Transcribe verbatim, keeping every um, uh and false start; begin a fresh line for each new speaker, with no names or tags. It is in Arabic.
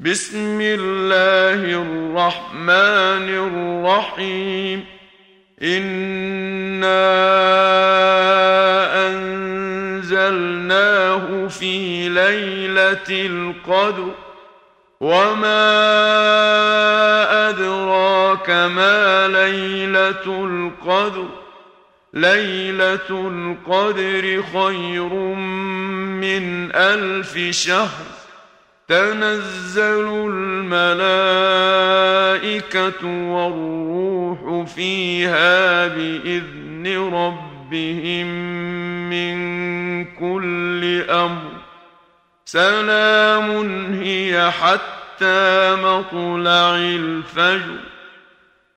بسم الله الرحمن الرحيم إنا أنزلناه في ليلة القدر وما أدراك ما ليلة القدر ليلة القدر خير من ألف شهر تنزل الملائكة والروح فيها بإذن ربهم من كل أمر سلام هي حتى مطلع الفجر